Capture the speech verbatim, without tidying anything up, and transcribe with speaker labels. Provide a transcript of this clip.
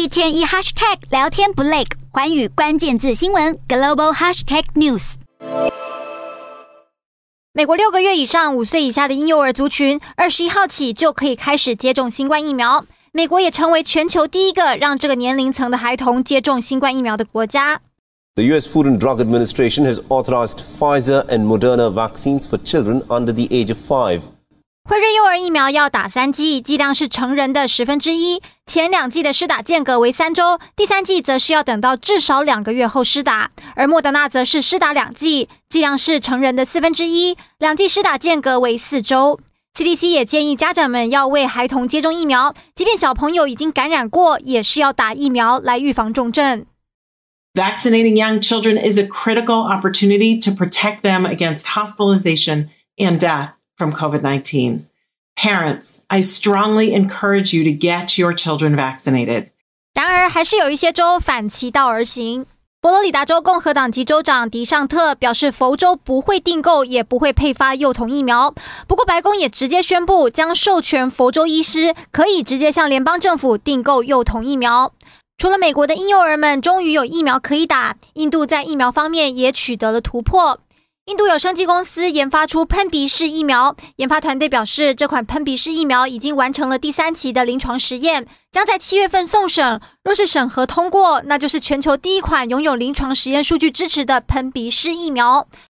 Speaker 1: 一天一 hashtag 聊天不累，寰宇關鍵字新聞 global hashtag news。
Speaker 2: 美國六個月以上五歲以下的嬰幼兒族群，二十一號起就可以開始接種新冠疫苗。美國也成為全球第一個讓這個年齡層的孩童接種新冠疫苗的國家。
Speaker 3: The U S Food and Drug Administration has authorized Pfizer and Moderna vaccines for children under the age of five.
Speaker 2: 輝瑞幼兒疫苗要打三劑，劑量是成人的十分之一。前兩劑的施打間隔為三週，第三劑則是要等到至少兩個月後施打。而莫德納則是施打兩劑，劑量是成人的四分之一，兩劑施打間隔為四週。C D C 也建議家長們要為孩童接種疫苗，即便小朋友已經感染過，也是要打疫苗來預防重症。
Speaker 4: Vaccinating young children is a critical opportunity to protect them against hospitalization and death from COVID nineteen. Parents, I strongly encourage you to get your children vaccinated.
Speaker 2: 然而，還是有一些州反其道而行。佛羅里達州共和黨籍州長迪尚特表示，佛州不會訂購也不會配發幼童疫苗。不過，白宮也直接宣布將授權佛州醫師可以直接向聯邦政府訂購幼童疫苗。除了美國的嬰幼兒們終於有疫苗可以打，印度在疫苗方面也取得了突破。印度有生技公司研發出噴鼻式疫苗，研發團隊表示，這款噴鼻式疫苗已經完成了第三期的臨床實驗，將在七月份送審。若是審核通過，那就是全球第一款擁有臨床實驗數據支持的噴鼻式疫苗。